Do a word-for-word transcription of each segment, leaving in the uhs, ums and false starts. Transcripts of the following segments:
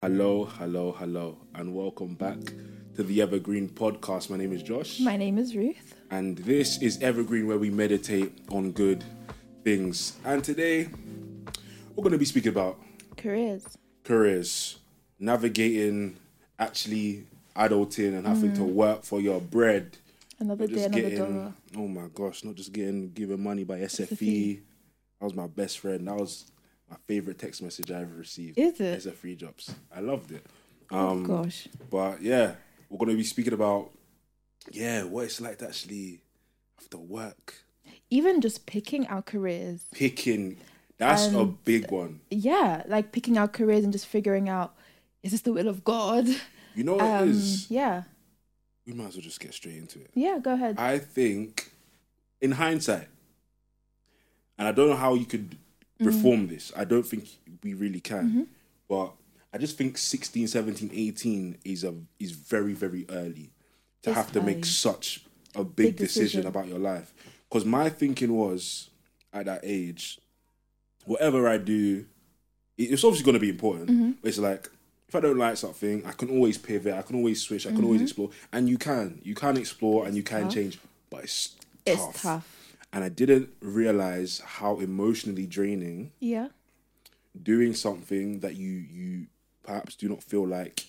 Hello, hello, hello, and welcome back to the Evergreen Podcast. My name is Josh. My name is Ruth. And this is Evergreen, where we meditate on good things. And today, we're going to be speaking about Careers. careers, navigating, actually adulting and having mm. to work for your bread. Another day, another getting, dollar. Oh my gosh, not just getting given money by S F E. S F E. That was my best friend. That was my favorite text message I ever received. Is it? S F E jobs. I loved it. Um, oh gosh. But yeah, we're going to be speaking about, yeah, what it's like to actually have to work. Even just picking our careers. Picking, that's and, a big one. Yeah, like picking our careers and just figuring out, is this the will of God? You know what um, it is? Yeah. We might as well just get straight into it. Yeah, go ahead. I think, in hindsight, and I don't know how you could reform mm-hmm. this. I don't think we really can. Mm-hmm. But I just think sixteen, seventeen, eighteen is a is very, very early to it's have to early. make such a big, big decision. decision about your life. Because my thinking was, at that age, whatever I do, it's obviously going to be important. Mm-hmm. But it's like, if I don't like something, I can always pivot, I can always switch, I can mm-hmm. always explore. And you can. You can explore and you can tough. change. But it's It's tough. tough. And I didn't realize how emotionally draining yeah. doing something that you you perhaps do not feel like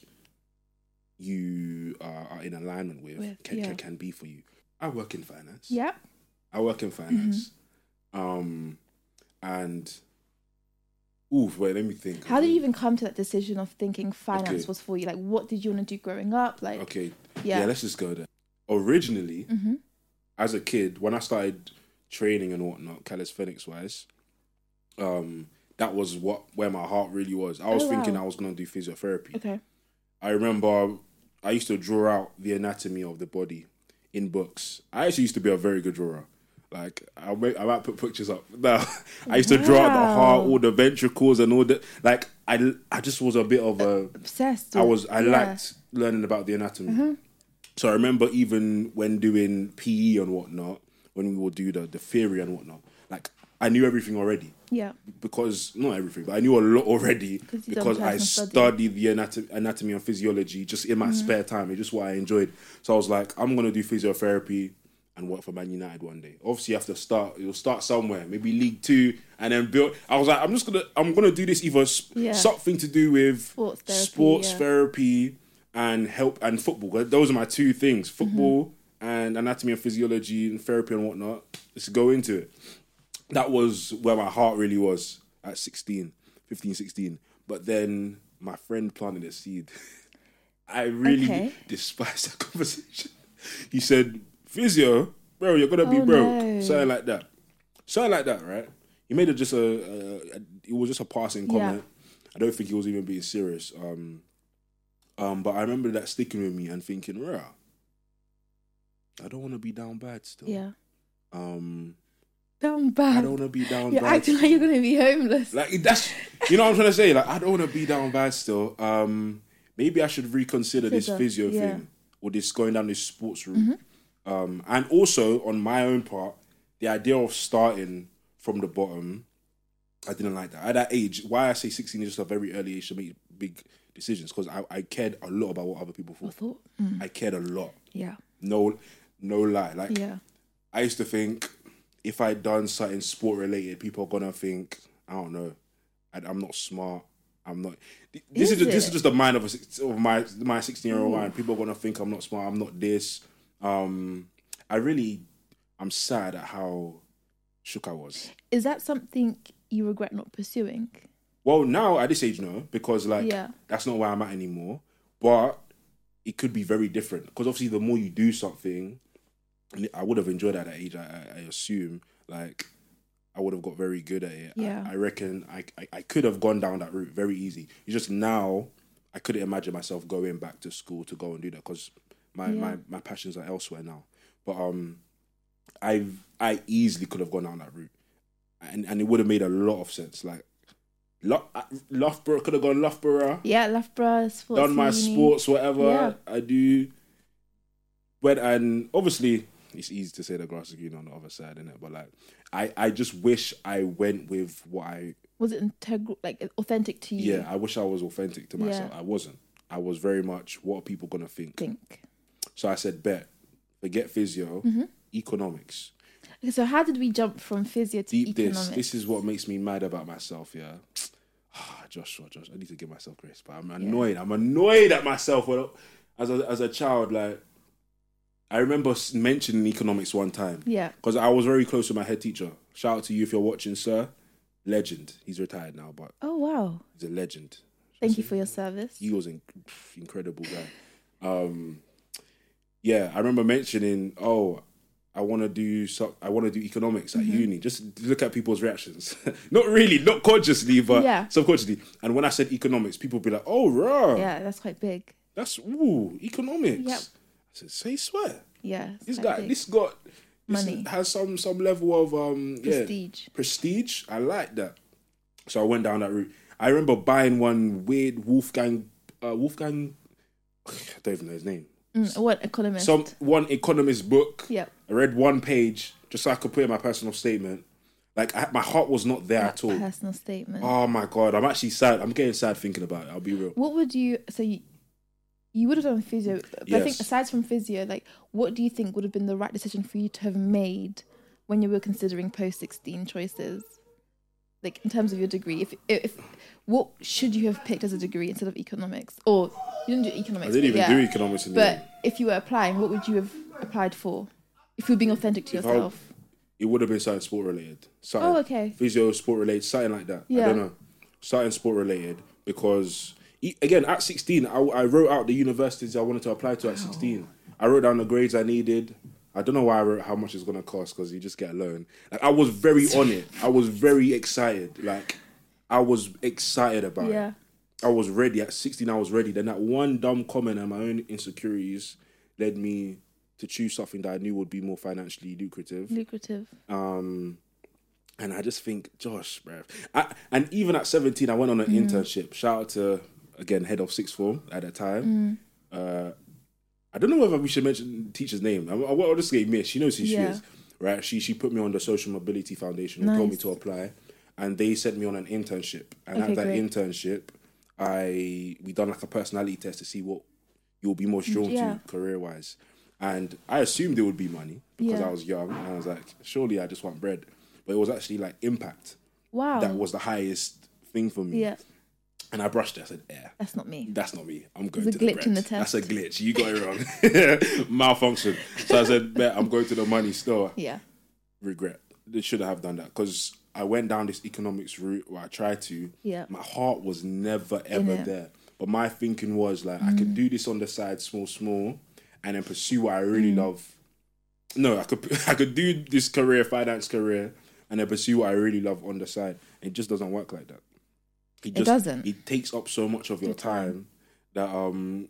you are, are in alignment with, with can, yeah. can can be for you. I work in finance. Yeah. I work in finance. Mm-hmm. Um, and, ooh, wait, let me think. How did you even come to that decision of thinking finance okay. was for you? Like, what did you want to do growing up? Like, Okay, yeah, yeah let's just go there. Originally, mm-hmm. as a kid, when I started training and whatnot, calisthenics-wise, um, that was what where my heart really was. I was oh, thinking wow. I was going to do physiotherapy. Okay. I remember I used to draw out the anatomy of the body in books. I actually used to be a very good drawer. Like, I might, I might put pictures up. No, I used to wow. draw out the heart, all the ventricles and all that. Like, I, I just was a bit of a... Obsessed. I was, I yeah. liked learning about the anatomy. Mm-hmm. So I remember even when doing P E and whatnot, when we would do the, the theory and whatnot, like, I knew everything already. Yeah. Because, not everything, but I knew a lot already because I study. studied the anatomy, anatomy and physiology just in my mm-hmm. spare time. It's just what I enjoyed. So I was like, I'm going to do physiotherapy and work for Man United one day. Obviously, you have to start, you'll start somewhere, maybe League Two, and then build. I was like, I'm just going to, I'm going to do this either yeah. something to do with sports therapy, sports yeah. therapy and help and football. Those are my two things, football mm-hmm. and anatomy and physiology and therapy and whatnot. Let's go into it. That was where my heart really was at sixteen, fifteen, sixteen. But then my friend planted a seed. I really okay. despise that conversation. He said, physio, bro, you're going to be oh, broke. No. Something like that. Something like that, right? He made it just a, a, a it was just a passing comment. Yeah. I don't think he was even being serious. Um, um, but I remember that sticking with me and thinking, rah, I don't want to be down bad still. Yeah. Um... Down bad. I don't want to be down you're bad. You're acting like you're going to be homeless. Like, that's, you know what I'm trying to say? Like, I don't want to be down bad still. Um, maybe I should reconsider Physio, this physio yeah. thing or this going down this sports route. Mm-hmm. Um, and also, on my own part, the idea of starting from the bottom, I didn't like that. At that age, why I say sixteen is just a very early age to make big decisions, because I, I cared a lot about what other people thought. thought? Mm. I cared a lot. Yeah. No, no lie. Like, yeah. I used to think, if I'd done something sport related, people are gonna think, I don't know, I, I'm not smart. I'm not. This is, is just, this is just the mind of a, of my my sixteen year old mind. People are gonna think I'm not smart. I'm not this. Um, I really, I'm sad at how shook I was. Is that something you regret not pursuing? Well, now at this age, no, because like yeah. that's not where I'm at anymore. But it could be very different, because obviously the more you do something. I would have enjoyed that at that age, I, I, I assume. Like, I would have got very good at it. Yeah. I, I reckon I, I, I could have gone down that route very easy. It's just now, I couldn't imagine myself going back to school to go and do that, because my, yeah. my, my passions are elsewhere now. But um, I I easily could have gone down that route. And and it would have made a lot of sense. Like, Lo- Loughborough, could have gone Loughborough. Yeah, Loughborough. Sports done my uni. sports, whatever. Yeah. I do. But, and obviously, it's easy to say the grass is green on the other side, innit? But like, I, I just wish I went with what I Was it integral, like authentic to you? Yeah, I wish I was authentic to myself. Yeah. I wasn't. I was very much, what are people gonna think? Think. So I said, bet, forget physio, mm-hmm. economics. Okay, so how did we jump from physio to Deep economics? This, this is what makes me mad about myself, yeah. Joshua, Josh, I need to give myself grace, but I'm annoyed. Yeah. I'm annoyed at myself. As a, as a child, like, I remember mentioning economics one time. Yeah. Because I was very close to my head teacher. Shout out to you if you're watching, sir. Legend. He's retired now, but... Oh, wow. He's a legend. Thank you for your service. He was an incredible guy. Um, yeah, I remember mentioning, oh... I want to do so, I want to do economics at mm-hmm. uni. Just look at people's reactions. Not really, not consciously, but yeah. subconsciously. And when I said economics, people would be like, "Oh, rah, yeah, that's quite big. That's ooh, economics." Yep. I said, "Say swear." Yeah, this guy, big. this got this money has some some level of um prestige. Yeah, prestige. I like that. So I went down that route. I remember buying one weird Wolfgang uh, Wolfgang. I don't even know his name. Mm, what economist? Some one economist book. Yeah. I read one page just so I could put in my personal statement. Like I, my heart was not there that at all. Personal statement. Oh my god, I'm actually sad. I'm getting sad thinking about it. I'll be real. What would you? So you, you would have done physio, but yes. I think aside from physio, like what do you think would have been the right decision for you to have made when you were considering post sixteen choices? Like in terms of your degree, if if what should you have picked as a degree instead of economics? Or you didn't do economics. I didn't even yeah. do economics in the But end. if you were applying, what would you have applied for? If you were being authentic to if yourself. I, it would have been something sport related. Something, oh, okay. Physio, sport related, something like that. Yeah. I don't know. Something sport related because again at sixteen, I, I wrote out the universities I wanted to apply to at wow. sixteen. I wrote down the grades I needed. I don't know why I wrote how much it's gonna cost because you just get a loan. Like I was very on it. I was very excited. Like I was excited about yeah. it. I was ready at sixteen. I was ready. Then that one dumb comment and my own insecurities led me to choose something that I knew would be more financially lucrative. Lucrative. Um, and I just think, Josh, bruv. I, and even at seventeen, I went on an mm. internship. Shout out to again head of sixth form at that time. Mm. Uh, I don't know whether we should mention the teacher's name. I, I, I'll just say Miss. She knows who yeah. she is, right? She she put me on the Social Mobility Foundation and nice. told me to apply, and they sent me on an internship. And okay, at that great. internship, I we done like a personality test to see what you'll be most drawn yeah. to career wise. And I assumed there would be money because yeah. I was young, and I was like, surely I just want bread. But it was actually like impact. Wow, that was the highest thing for me. Yeah. And I brushed it. I said, yeah. That's not me. That's not me. I'm going There's to a the glitch bread. in the test. That's a glitch. You got it wrong. Malfunction. So I said, bet I'm going to the money store. Yeah. Regret. They should have done that because I went down this economics route where I tried to. Yeah. My heart was never, ever there. But my thinking was like, mm. I could do this on the side, small, small, and then pursue what I really mm. love. No, I could I could do this career, finance career, and then pursue what I really love on the side. It just doesn't work like that. It, just, it doesn't. It takes up so much of your time that um,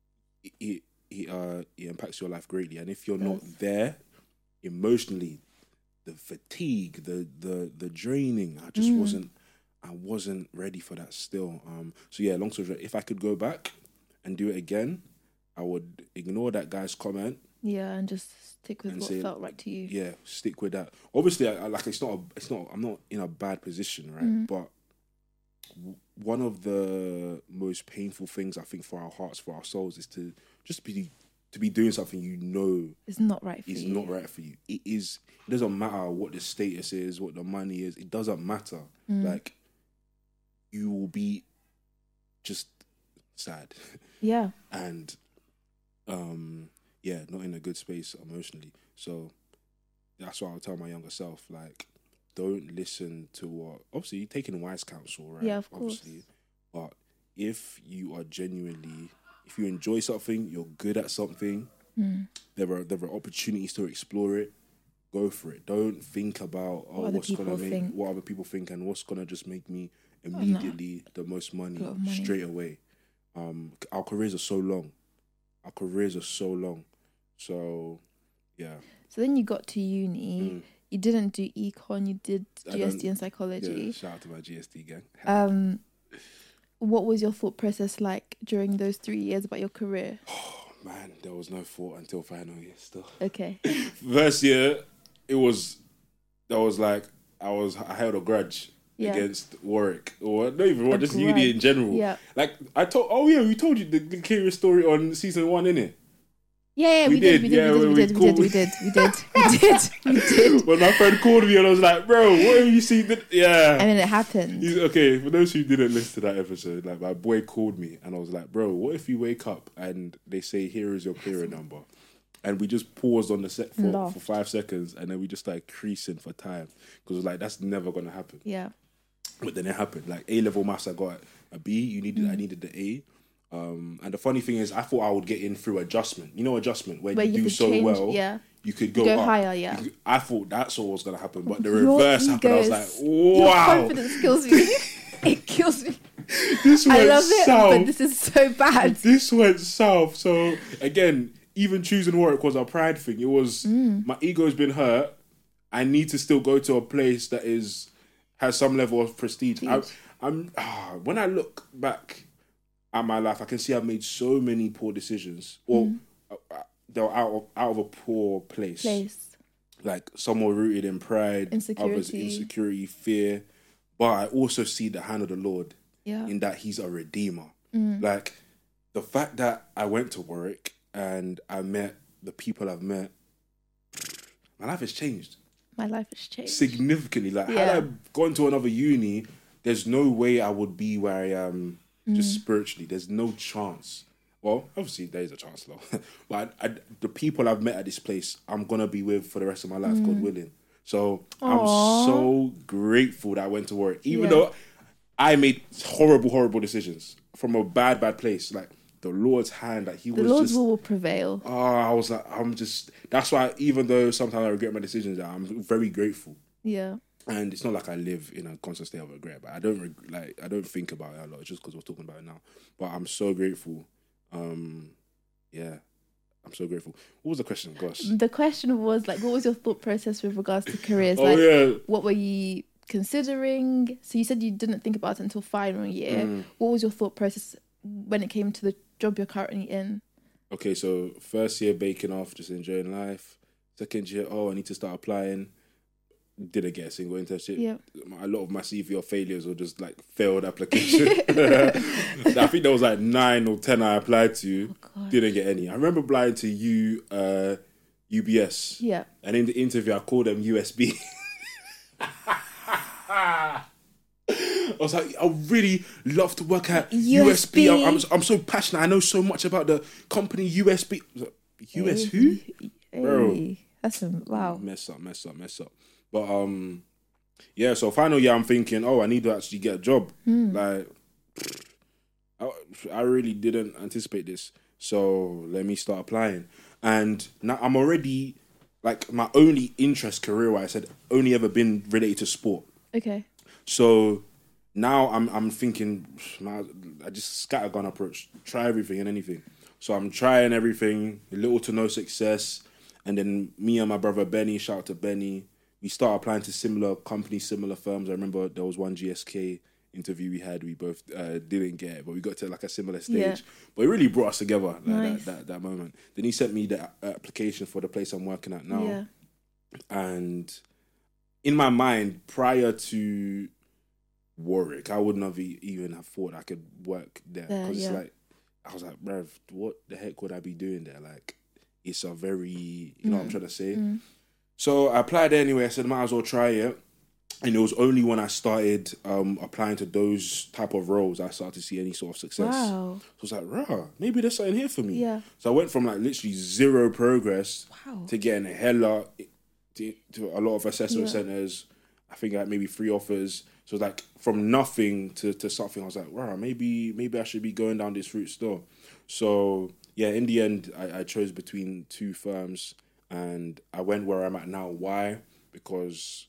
it it, uh, it impacts your life greatly. And if you're not there emotionally, the fatigue, the the the draining, I just mm. wasn't I wasn't ready for that still. Um, so yeah, long story short, if I could go back and do it again, I would ignore that guy's comment. Yeah, and just stick with what say, felt right to you. Yeah, stick with that. Obviously, I, I, like it's not. A, it's not. I'm not in a bad position, right? Mm. But one of the most painful things I think for our hearts, for our souls, is to just be to be doing something you know it's not right for is you. not right for you. It is. It doesn't matter what the status is, what the money is. It doesn't matter. Mm. Like you will be just sad. Yeah. and um, yeah, not in a good space emotionally. So that's why I'll tell my younger self, like, don't listen to what... Obviously, you're taking wise counsel, right? Yeah, of course. Obviously. But if you are genuinely... If you enjoy something, you're good at something, mm. there are there are opportunities to explore it, go for it. Don't think about, oh, what what's going to make... Think. What other people think and what's going to just make me immediately oh, no. the most money, money straight away. Um, our careers are so long. Our careers are so long. So, yeah. So then you got to uni. Mm. You didn't do econ. You did G S T and psychology. Yeah, shout out to my G S T gang. Um, what was your thought process like during those three years about your career? Oh, man, there was no thought until final year still. Okay. First year, it was, that was like, I was, I held a grudge. yeah. against Warwick, or not even Warwick, just uni in general. Yeah. Like I told, oh yeah, we told you the, the curious story on season one, innit? Yeah, yeah, we, we did, did, we did, yeah, we, did, we, did, we, did, we did, we did, we did, we did. When my friend called me and I was like, bro, what have you seen? That? Yeah. And then it happened. He's, okay, for those who didn't listen to that episode, like my boy called me and I was like, bro, what if you wake up and they say, here is your clearer number? And we just paused on the set for, for five seconds and then we just started creasing for time. Because it was like, that's never going to happen. Yeah. But then it happened. Like A-level maths, I got a B. You needed, mm. I needed the A. Um, and the funny thing is, I thought I would get in through adjustment. You know, adjustment where, where you, you do so change, well, yeah. you could go, go up. higher. Yeah, could, I thought that's what was going to happen, but the reverse happened. I was like, wow, your confidence kills me. It kills me. This went I love south. it, but this is so bad. This went south. So again, even choosing Warwick was a pride thing. It was mm. my ego's been hurt. I need to still go to a place that is has some level of prestige. I, I'm ah, when I look back at my life, I can see I've made so many poor decisions, or mm. uh, they're out of out of a poor place. Place, like some were rooted in pride, insecurity, others insecurity, fear. But I also see the hand of the Lord, yeah. in that He's a redeemer. Mm. Like the fact that I went to Warwick and I met the people I've met, my life has changed. My life has changed significantly. Like yeah. had I gone to another uni, there's no way I would be where I am. Just mm. spiritually, there's no chance. Well, obviously there is a chance though. But I, I, the people I've met at this place, I'm gonna be with for the rest of my life, mm. God willing. So Aww. I'm so grateful that I went to Warwick, even yeah. though I made horrible, horrible decisions from a bad, bad place. Like the Lord's hand, like He the was Lord's just. will will prevail. Oh, I was like, I'm just. That's why, even though sometimes I regret my decisions, I'm very grateful. Yeah. And it's not like I live in a constant state of regret, but I don't reg- like I don't think about it a lot just because we're talking about it now. But I'm so grateful. Um, yeah, I'm so grateful. What was the question, Gosh? The question was like, what was your thought process with regards to careers? oh like, yeah. What were you considering? So you said you didn't think about it until final year. Mm. What was your thought process when it came to the job you're currently in? Okay, so first year baking off, just enjoying life. Second year, oh, I need to start applying. Didn't get a single internship. Yeah. A lot of my C V or failures were just like failed application. I think there was like nine or ten I applied to. Oh, didn't get any. I remember applying to U, uh, U B S. Yeah. And in the interview, I called them U S B. I was like, I really love to work at U S B. U S B. I'm, I'm, I'm so passionate. I know so much about the company U S B. Like, U S who? Hey. Bro. That's a, wow. Mess up, mess up, mess up. But um, yeah. So final year, I'm thinking, oh, I need to actually get a job. Mm. Like, I, I really didn't anticipate this. So let me start applying. And now I'm already like my only interest career-wise had only ever been related to sport. Okay. So now I'm I'm thinking, I just scattergun approach, try everything and anything. So I'm trying everything, little to no success. And then me and my brother Benny, shout out to Benny, we start applying to similar companies, similar firms. I remember there was one G S K interview we had, we both uh, didn't get, but we got to like a similar stage. Yeah. But it really brought us together, like nice. that, that that moment. Then he sent me the application for the place I'm working at now. Yeah. And in my mind, prior to Warwick, I wouldn't have even have thought I could work there. Because uh, yeah. it's like, I was like, bruv, what the heck would I be doing there? Like, it's a very, you know mm. what I'm trying to say? Mm. So I applied anyway. I said, might as well try it. And it was only when I started um, applying to those type of roles I started to see any sort of success. Wow. So I was like, rah, maybe there's something here for me. Yeah. So I went from like literally zero progress wow. to getting a hella, to, to a lot of assessment yeah. centres. I think I had maybe three offers. So it was like from nothing to, to something. I was like, wow, maybe maybe I should be going down this route still. So yeah, in the end, I, I chose between two firms and I went where I'm at now. Why? Because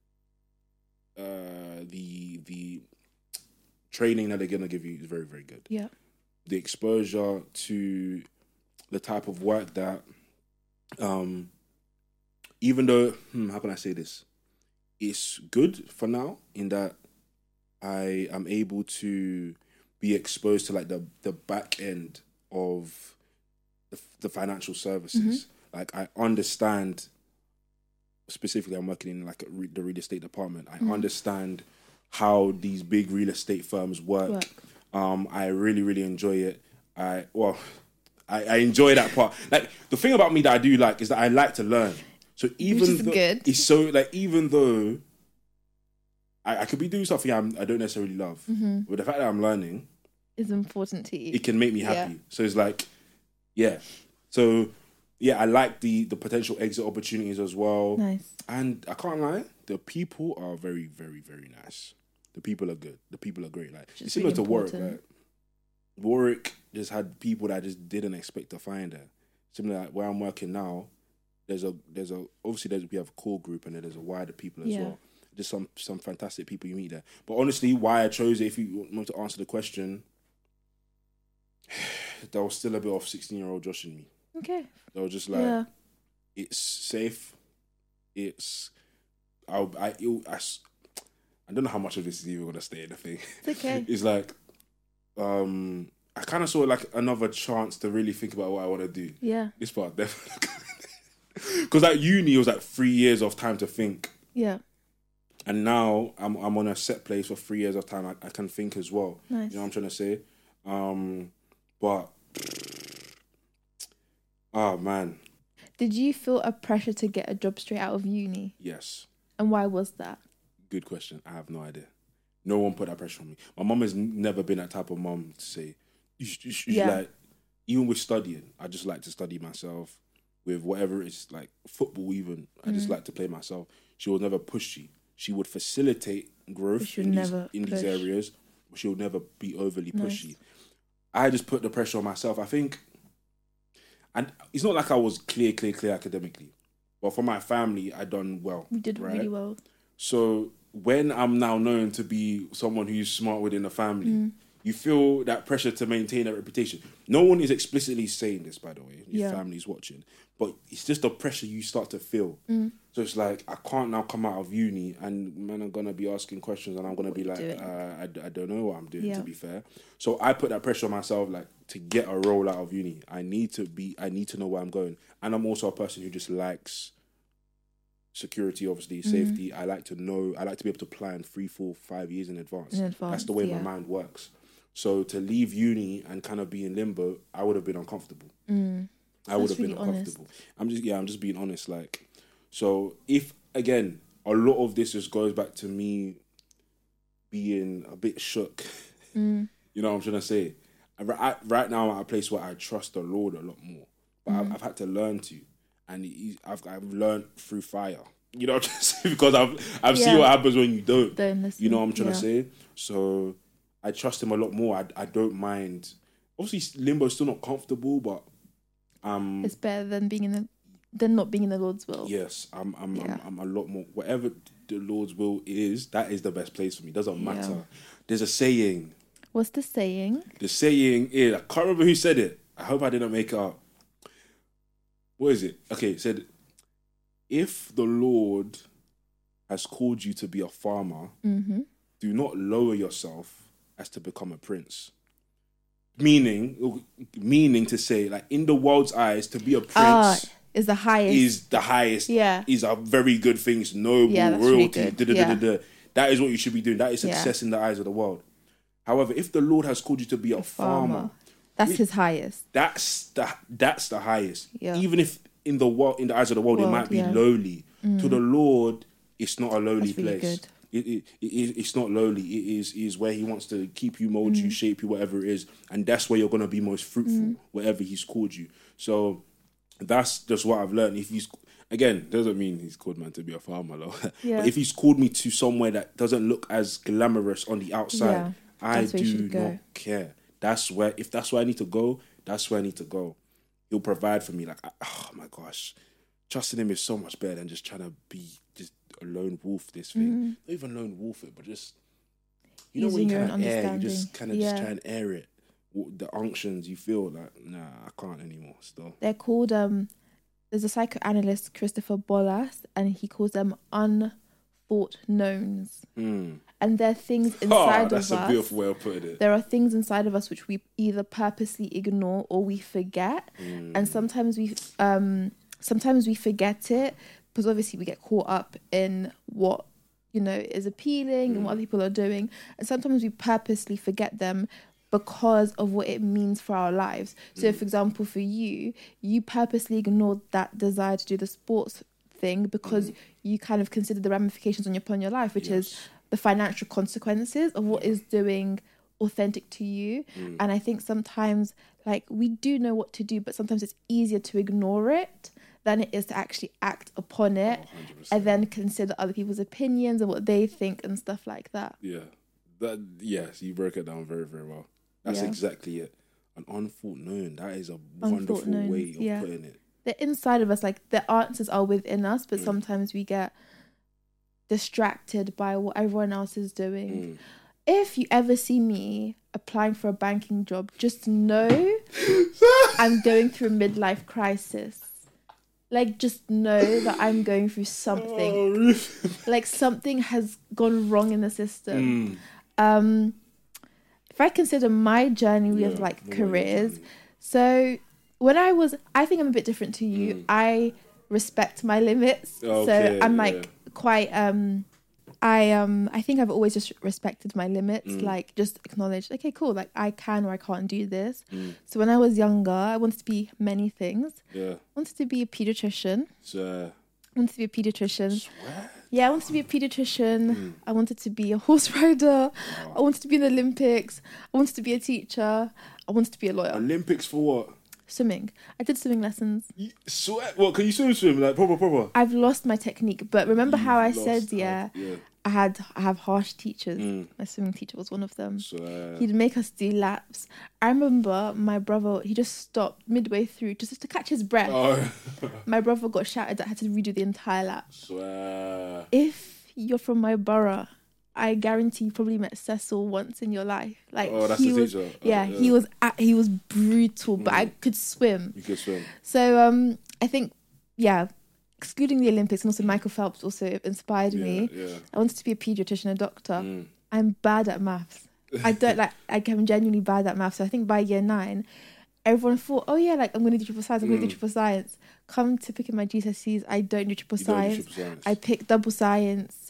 uh, the the training that they're going to give you is very, very good. Yeah. The exposure to the type of work that, um, even though, hmm, how can I say this? It's good for now in that I am able to be exposed to like the, the back end of the, the financial services. Mm-hmm. Like I understand, specifically I'm working in like a re- the real estate department. I mm-hmm. understand how these big real estate firms work. Work. Um, I really, really enjoy it. I well, I, I enjoy that part. Like the thing about me that I do like is that I like to learn. So even though good. it's so like even though I, I could be doing something I'm, I don't necessarily love, mm-hmm. but the fact that I'm learning is important to you. It can make me happy. Yeah. So it's like, yeah. So yeah, I like the the potential exit opportunities as well. Nice. And I can't lie, the people are very, very, very nice. The people are good. The people are great. Like it's similar really to Warwick. Like, Warwick just had people that I just didn't expect to find there. Similar like where I'm working now, there's a there's a obviously there's we have a core group and then there's a wider people as yeah. well. Just some some fantastic people you meet there. But honestly, why I chose it, if you want to answer the question, there was still a bit of sixteen year old Josh in me. Okay. They were just like, yeah. it's safe. It's I I, it, I I don't know how much of this is even gonna stay in the thing. It's okay. It's like, um, I kind of saw it like another chance to really think about what I want to do. Yeah. This part definitely. Because at uni it was like three years of time to think. Yeah. And now I'm I'm on a set place for three years of time. I, I can think as well. Nice. You know what I'm trying to say? Um, but oh man. Did you feel a pressure to get a job straight out of uni? Yes. And why was that? Good question. I have no idea. No one put that pressure on me. My mum has never been that type of mum to say, you should, you should yeah. like, even with studying, I just like to study myself with whatever it's like football even. I mm. just like to play myself. She was never pushy. She would facilitate growth in, these, in these areas, but she would never be overly pushy. Nice. I just put the pressure on myself. I think, and it's not like I was clear, clear, clear academically, but for my family, I done well. You did right? really well. So when I'm now known to be someone who's smart within the family, mm. you feel that pressure to maintain that reputation. No one is explicitly saying this, by the way. Your yeah. family's watching. But it's just the pressure you start to feel. Mm. So it's like, I can't now come out of uni and man, I'm going to be asking questions and I'm going to be like, uh, I, I don't know what I'm doing, yeah. to be fair. So I put that pressure on myself, like, to get a role out of uni. I need to be, I need to know where I'm going. And I'm also a person who just likes security, obviously, mm-hmm. safety. I like to know, I like to be able to plan three, four, five years in advance. In advance, That's the way yeah. my mind works. So to leave uni and kind of be in limbo, I would have been uncomfortable. Mm. I would have really been uncomfortable. Honest. I'm just, yeah, I'm just being honest. Like, so if, again, a lot of this just goes back to me being a bit shook. Mm. You know what I'm trying to say? I, right now I'm at a place where I trust the Lord a lot more. But mm. I've, I've had to learn to. And I've I've learned through fire. You know what I'm trying to say? Because I've, I've yeah. seen what happens when you don't. Don't listen. You know what I'm trying yeah. to say? So I trust him a lot more. I, I don't mind. Obviously, limbo is still not comfortable, but um, it's better than being in the, than not being in the Lord's will. Yes, I'm I'm, yeah. I'm I'm a lot more. Whatever the Lord's will is, that is the best place for me. It doesn't matter. Yeah. There's a saying. What's the saying? The saying is, I can't remember who said it. I hope I didn't make it up. What is it? Okay, it said, if the Lord has called you to be a farmer, mm-hmm. do not lower yourself as to become a prince. Meaning, meaning to say, like, in the world's eyes, to be a prince uh, is the highest. Is the highest. Yeah. Is a very good thing. It's noble, yeah, that's royalty. Really da, da, yeah. da, da, da. That is what you should be doing. That is success yeah. in the eyes of the world. However, if the Lord has called you to be a, a farmer, farmer, that's it, his highest. That's the that's the highest. Yeah. Even if in the world, in the eyes of the world, world it might be yeah. lowly. Mm. To the Lord, it's not a lowly that's really place. Good. It, it, it, it's not lowly. It is, it is where he wants to keep you, mold mm. you, shape you, whatever it is. And that's where you're going to be most fruitful, mm. wherever he's called you. So that's just what I've learned. If he's, again, doesn't mean he's called man to be a farmer. Though. Yeah. But if he's called me to somewhere that doesn't look as glamorous on the outside, yeah, I do not care. That's where, if that's where I need to go, that's where I need to go. He'll provide for me. Like, oh my gosh, trusting him is so much better than just trying to be just a lone wolf, this thing. Mm-hmm. Not even lone wolf it, but just, you know, Using when you kind of air, you just kind of yeah. just try and air it. The unctions you feel like, nah, I can't anymore still. They're called, um, there's a psychoanalyst, Christopher Bollas, and he calls them unthought knowns. Mm. And there are things inside oh, of us. That's a beautiful way of putting it. There are things inside of us which we either purposely ignore or we forget. Mm. And sometimes we, um, sometimes we forget it because obviously we get caught up in what, you know, is appealing mm. and what other people are doing. And sometimes we purposely forget them because of what it means for our lives. So, mm. for example, for you, you purposely ignored that desire to do the sports thing because mm. you kind of considered the ramifications on your, upon your life, which yes. is the financial consequences of what is doing authentic to you. Mm. And I think sometimes, like, we do know what to do, but sometimes it's easier to ignore it than it is to actually act upon it oh, and then consider other people's opinions and what they think and stuff like that. Yeah. That yes, you broke it down very, very well. That's yeah. exactly it. An unthought known. That is a wonderful known. way of yeah. putting it. They're inside of us, like the answers are within us, but mm. sometimes we get distracted by what everyone else is doing. Mm. If you ever see me applying for a banking job, just know I'm going through a midlife crisis. Like, just know that I'm going through something. Oh, like, something has gone wrong in the system. Mm. Um, if I consider my journey with, yeah, like, careers, so when I was... I think I'm a bit different to you. Mm. I respect my limits. Okay, so I'm, like, yeah. quite... Um, I um I think I've always just respected my limits, mm. like just acknowledged, okay, cool, like I can or I can't do this. Mm. So when I was younger, I wanted to be many things. Yeah. I wanted to be a pediatrician. So I wanted to be a pediatrician. Swear? Yeah, I wanted to be a pediatrician. Mm. I wanted to be a horse rider. Wow. I wanted to be in the Olympics. I wanted to be a teacher. I wanted to be a lawyer. Olympics for what? Swimming. I did swimming lessons. You swear? What, can you swim swim? Like proper proper? I've lost my technique, but remember You've how I said, yeah, yeah, I had I have harsh teachers. Mm. My swimming teacher was one of them. Swear. He'd make us do laps. I remember my brother, he just stopped midway through just to catch his breath. Oh. My brother got shouted that I had to redo the entire lap. Swear. If you're from my borough, I guarantee you probably met Cecil once in your life. Like, oh, that's he the was, teacher. Yeah, oh, yeah, he was at, he was brutal, but mm. I could swim. You could swim. So um, I think, yeah, excluding the Olympics and also Michael Phelps also inspired yeah, me. Yeah. I wanted to be a pediatrician, a doctor. Mm. I'm bad at maths. I don't like. Like, I'm genuinely bad at maths. So I think by year nine, everyone thought, oh yeah, like I'm going to do triple science. I'm mm. going to do triple science. Come to picking my G C S Es, I don't do triple, science. Do triple science. I pick double science.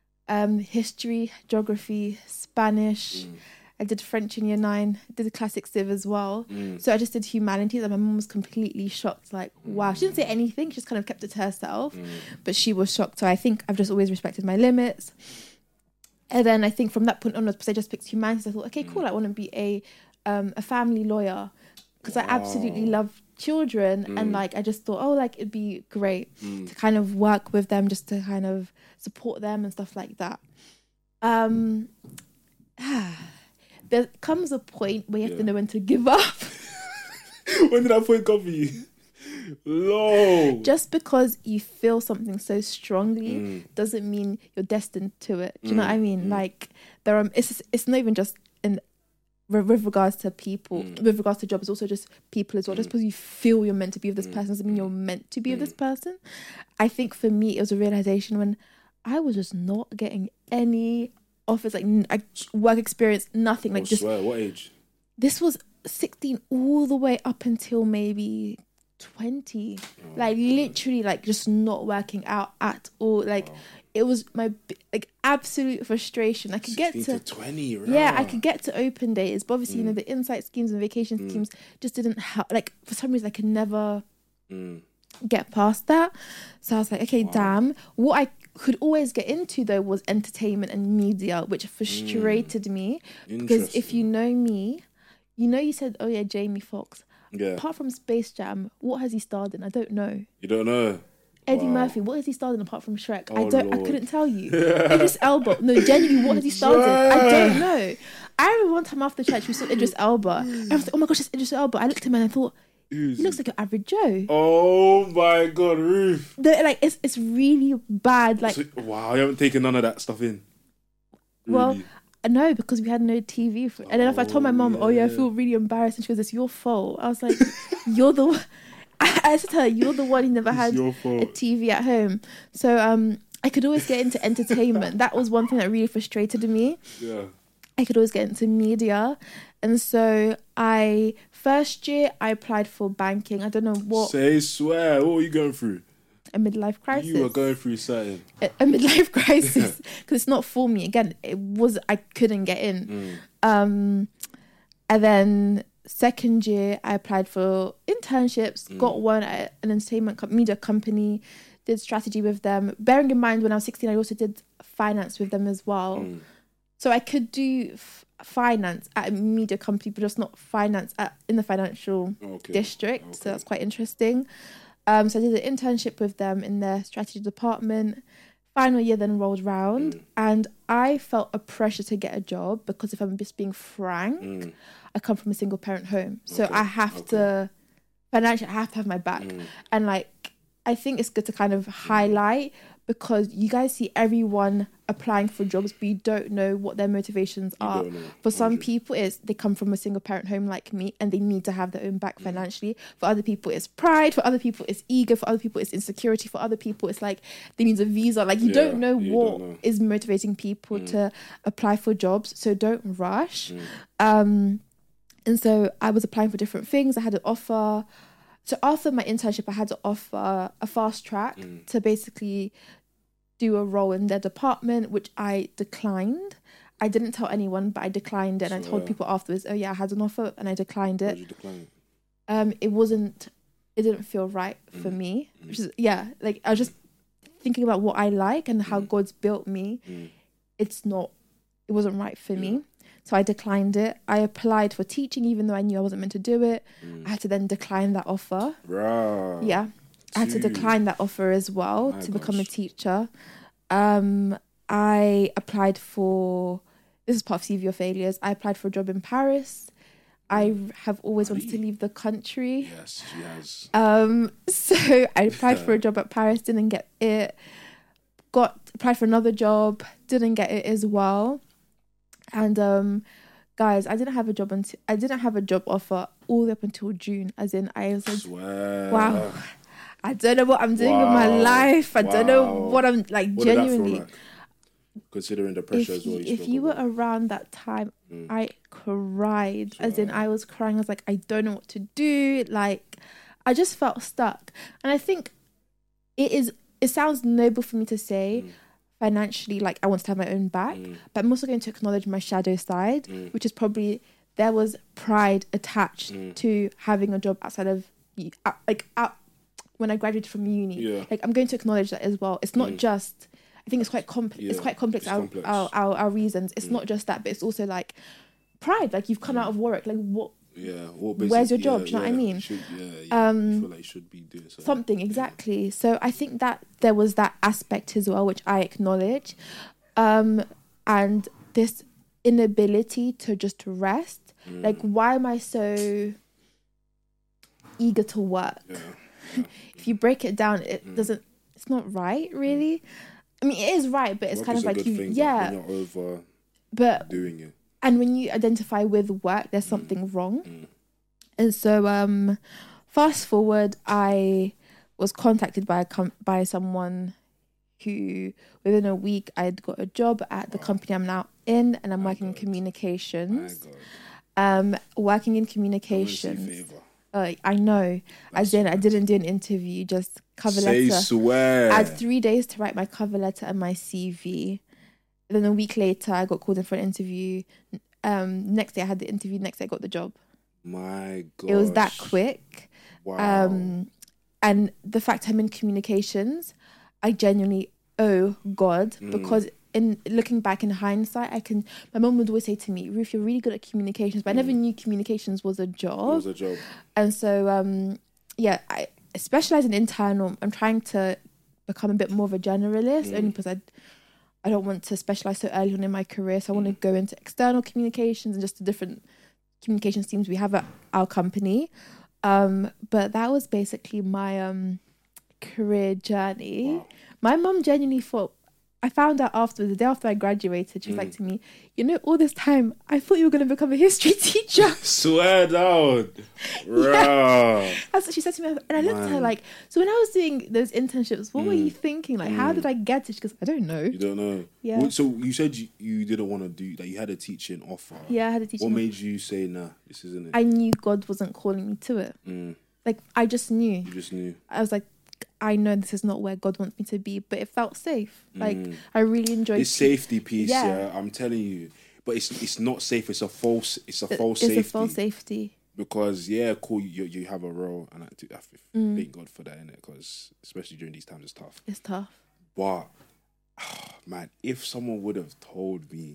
Um, history, geography, Spanish. Mm. I did French in year nine. I did the classic civ as well. Mm. So I just did humanities, and my mum was completely shocked. Like, wow. She didn't say anything. She just kind of kept it to herself. Mm. But she was shocked. So I think I've just always respected my limits. And then I think from that point onwards, because I just picked humanities, I thought, okay, cool. Mm. I want to be a um, a family lawyer because wow. I absolutely love children. Mm. And like, I just thought, oh, like it'd be great mm. to kind of work with them, just to kind of support them and stuff like that. Um, there comes a point where you have yeah. to know when to give up. When did that point come for you? Low. Just because you feel something so strongly mm. doesn't mean you're destined to it. Do you mm. know what I mean? Mm. Like, there are. It's it's not even just in with regards to people, mm. with regards to jobs, it's also just people as well. Mm. Just because you feel you're meant to be with this mm. person doesn't mean you're meant to be mm. with this person. I think for me, it was a realization when I was just not getting any offers, like I, work experience, nothing. Like, oh, just swear. What age? This was sixteen all the way up until maybe twenty. Oh, like literally, like just not working out at all. Like wow. It was my like absolute frustration. I could get to, to twenty. Right? Yeah, I could get to open days, but obviously, mm. you know, the insight schemes and vacation mm. schemes just didn't help. Like for some reason, I could never mm. get past that. So I was like, okay, wow. damn. What I could always get into though was entertainment and media, which frustrated mm. me because if you know me, you know, you said, oh yeah, Jamie Foxx. Yeah. Apart from Space Jam, what has he starred in? I don't know. You don't know? Eddie wow. Murphy, what has he starred in apart from Shrek? Oh, I don't. Lord. I couldn't tell you. Idris Elba. No, genuinely, what has he starred in? I don't know. I remember one time after church we saw Idris Elba. And I was like, oh my gosh, it's Idris Elba. I looked at him and I thought, he looks like an average Joe. Oh my God, Ruth. The, like it's it's really bad. Like so, wow, you haven't taken none of that stuff in. Really? Well, no, because we had no T V. For, and then if I told my mum, yeah. oh yeah, I feel really embarrassed, and she goes, "It's your fault." I was like, "You're the." One. I said to her, "You're the one who never had a T V at home." So um, I could always get into entertainment. That was one thing that really frustrated me. Yeah. I could always get into media, and so I first year I applied for banking. I don't know what. Say swear. What were you going through? a midlife crisis. You were going through something. A, a midlife crisis because it's not for me. Again, it was I couldn't get in. Mm. Um, and then second year, I applied for internships. Mm. Got one at an entertainment co- media company. Did strategy with them. Bearing in mind, when I was sixteen, I also did finance with them as well. Mm. So I could do f- finance at a media company, but just not finance at in the financial okay. district. Okay. So that's quite interesting. Um, so I did an internship with them in their strategy department. Final year then rolled round, mm. and I felt a pressure to get a job because if I'm just being frank, mm. I come from a single parent home, so okay. I have okay. to financially I have to have my back, mm. and like I think it's good to kind of highlight. Because you guys see everyone applying for jobs, but you don't know what their motivations you are. For some people, it's they come from a single parent home like me and they need to have their own back mm. financially. For other people, it's pride. For other people, it's ego. For other people, it's insecurity. For other people, it's like they need a visa. Like you yeah, don't know you what don't know. is motivating people mm. to apply for jobs. So don't rush. Mm. Um, and so I was applying for different things. I had an offer. So after my internship, I had to offer a fast track mm. to basically do a role in their department, which I declined. I didn't tell anyone, but I declined it. And so, I told uh, people afterwards, oh yeah, I had an offer and I declined it. Why did you decline it? Um, it wasn't, it didn't feel right mm. for me. Mm. Which is, yeah, like I was just thinking about what I like and how mm. God's built me. Mm. It's not, it wasn't right for yeah. me. So I declined it. I applied for teaching, even though I knew I wasn't meant to do it. Mm. I had to then decline that offer. Right. Yeah. I had to decline that offer as well My to gosh. become a teacher. Um, I applied for, this is part of C V or failures. I applied for a job in Paris. I have always wanted to leave the country. Yes, she has. Um, so I applied for a job at Paris, didn't get it. Got applied for another job, didn't get it as well. And um, guys, I didn't have a job until I didn't have a job offer all the way up until June. As in, I was like, Swear. wow. I don't know what I'm doing wow. with my life. I wow. don't know what I'm like what genuinely. Did that feel like? Considering the pressure if as well. You, if you were about. around that time, mm. I cried. Swear. As in, I was crying. I was like, I don't know what to do. Like, I just felt stuck. And I think it is. It sounds noble for me to say. Mm. Financially, like I want to have my own back, mm. but I'm also going to acknowledge my shadow side, mm. which is probably there was pride attached mm. to having a job outside of like out when I graduated from uni. Yeah. Like I'm going to acknowledge that as well. It's not mm. just. I think it's quite complex. Yeah. It's quite complex. It's our, complex. Our, our our reasons. It's mm. not just that, but it's also like pride. Like you've come mm. out of work. Like what? Yeah. What where's your job? Yeah, Do you know yeah, what I mean? Should, yeah, yeah. Um, you feel like you should be doing something. Something exactly. Yeah. So I think that there was that aspect as well, which I acknowledge, um, and this inability to just rest. Mm. Like, why am I so eager to work? Yeah. Yeah. If you break it down, it mm. doesn't. It's not right, really. I mean, it is right, but it's work kind of like you, thing, yeah. But you're over but doing it. And when you identify with work, there's something mm. wrong. Mm. And so, um, fast forward, I was contacted by a com- by someone who, within a week, I'd got a job at the wow. company I'm now in, and I'm My working God. in communications. My God. Um, working in communications. Uh, I know. As in, I didn't do an interview, just cover Say letter. Swear. I had three days to write my cover letter and my C V. Then a week later, I got called in for an interview. Um, next day, I had the interview. Next day, I got the job. My God. It was that quick. Wow. Um, and the fact I'm in communications, I genuinely owe God mm. because in looking back in hindsight, I can. My mum would always say to me, "Ruth, you're really good at communications," but mm. I never knew communications was a job. It was a job. And so, um, yeah, I specialize in internal. I'm trying to become a bit more of a generalist, mm. only because I. I don't want to specialize so early on in my career. So I want to go into external communications and just the different communications teams we have at our company. Um, but that was basically my um, career journey. Wow. My mum genuinely thought, I found out after, the day after I graduated, she was mm. like to me, you know, all this time, I thought you were going to become a history teacher. Swear down. Yeah. That's what she said to me. And I looked Man. at her like, so when I was doing those internships, what mm. were you thinking? Like, mm. how did I get it? She goes, I don't know. You don't know? Yeah. Well, so you said you, you didn't want to do, that you had a teaching offer. Yeah, I had a teaching What offer. made you say, nah, this isn't it? I knew God wasn't calling me to it. Mm. Like, I just knew. You just knew. I was like, I know this is not where God wants me to be, but it felt safe. Like mm. I really enjoyed this safety piece. Yeah. yeah, I'm telling you, but it's it's not safe. It's a false. It's a false it's safety. It's a false safety. Because yeah, cool. You you have a role, and I, I mm. thank God for that, innit? Because especially during these times, it's tough. It's tough. But oh, man, if someone would have told me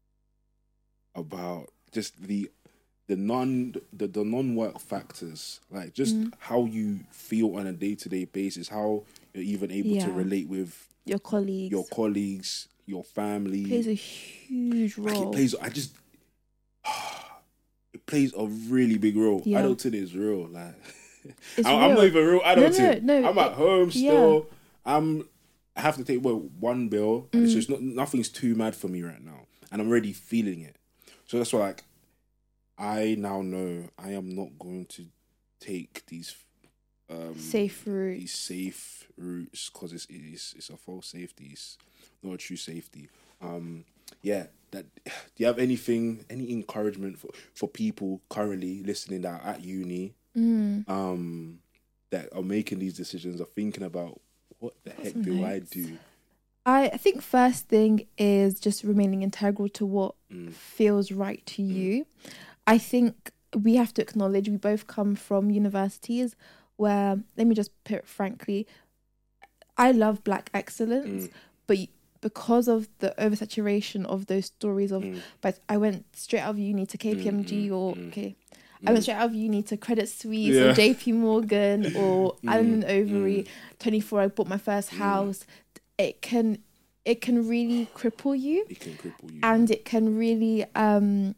about just the the non the, the non-work factors, like just mm. how you feel on a day-to-day basis, how you're even able yeah. to relate with your colleagues, your colleagues, your family, it plays a huge role. Like it plays. I just it plays a really big role. Yeah. Adulting is real. Like it's I, real. I'm not even real adulting. No, no, no, I'm at home still. Yeah. I'm. I have to take well, one bill. Mm. It's just not nothing's too mad for me right now, and I'm already feeling it. So that's why, like, I now know I am not going to take these um, safe routes. These safe routes because it's it's it's a false safety. It's not a true safety. Um, yeah. That do you have anything, any encouragement for, for people currently listening that are at uni, mm. um, that are making these decisions, are thinking about what the That's heck nice. do I do? I think first thing is just remaining integral to what mm. feels right to mm. you. I think we have to acknowledge we both come from universities where, let me just put it frankly, I love Black excellence, mm. but because of the oversaturation of those stories of, mm. but I went straight out of uni to K P M G mm. or, mm. okay, mm. I went straight out of uni to Credit Suisse yeah. or J P Morgan or mm. Allen and Overy, mm. twenty-four, I bought my first house. Mm. It can, it can really cripple you. It can cripple you. And it can really um,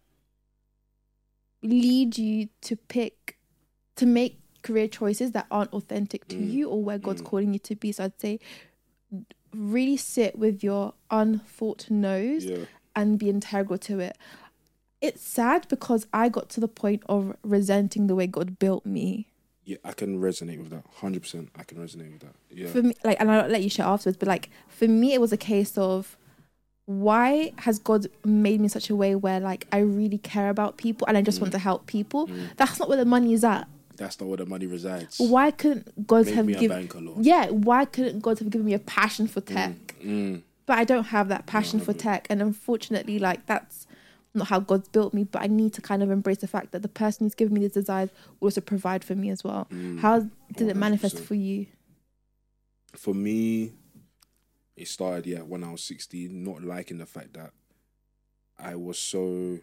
lead you to pick, to make career choices that aren't authentic to mm. you or where God's mm. calling you to be. So I'd say really sit with your unthought no's yeah. and be integral to it. It's sad because I got to the point of resenting the way God built me. Yeah, I can resonate with that. one hundred percent I can resonate with that. Yeah. For me, like, and I'll let you share afterwards, but like, for me, it was a case of, why has God made me in such a way where like I really care about people and I just mm. want to help people? Mm. That's not where the money is at. That's not where the money resides. Why couldn't God Make have me a given? banker, Lord. Yeah, why couldn't God have given me a passion for tech? Mm. Mm. But I don't have that passion no, for no. tech, and unfortunately, like that's not how God's built me. But I need to kind of embrace the fact that the person who's given me these desires will also provide for me as well. Mm. How did one hundred percent. It manifest for you? For me, it started yeah when I was sixteen, not liking the fact that I was so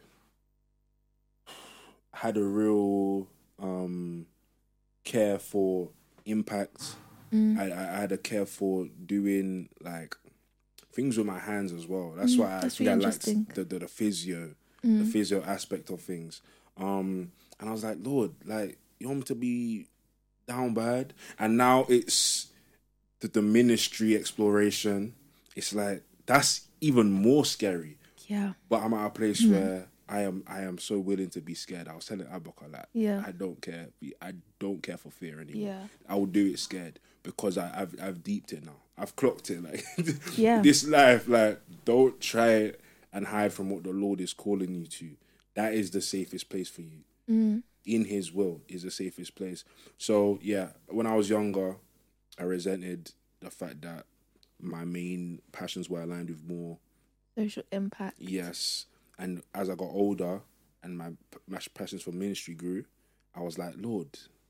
had a real um, care for impact. Mm. I, I had a care for doing like things with my hands as well. That's mm, why I that's think really I liked the, the the physio, mm. the physio aspect of things. Um, and I was like, Lord, like you want me to be down bad? And now it's the, the ministry exploration. It's like that's even more scary. Yeah. But I'm at a place mm. where I am I am so willing to be scared. I was telling Abaka like yeah. I don't care. I don't care for fear anymore. Yeah. I will do it scared because I, I've I've deeped it now. I've clocked it. Like yeah. this life, like don't try and hide from what the Lord is calling you to. That is the safest place for you. Mm. In His will is the safest place. So yeah, when I was younger, I resented the fact that my main passions were aligned with more social impact. Yes. And as I got older and my, my passions for ministry grew, I was like, Lord,